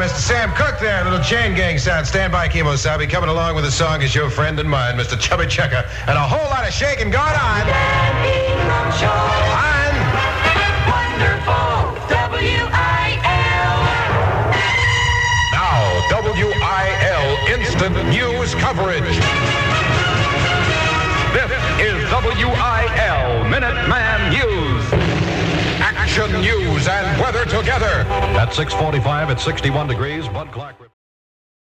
Mr. Sam Cooke there, little chain gang sound. Stand by, Kimo Sabe. Coming along with a song is your friend and mine, Mr. Chubby Checker. And a whole lot of shaking going on. On Wonderful WIL. Now, WIL Instant News Coverage. This is WIL Minuteman News. Action, news, and weather together. At 6:45, it's 61 degrees. Bud Clark.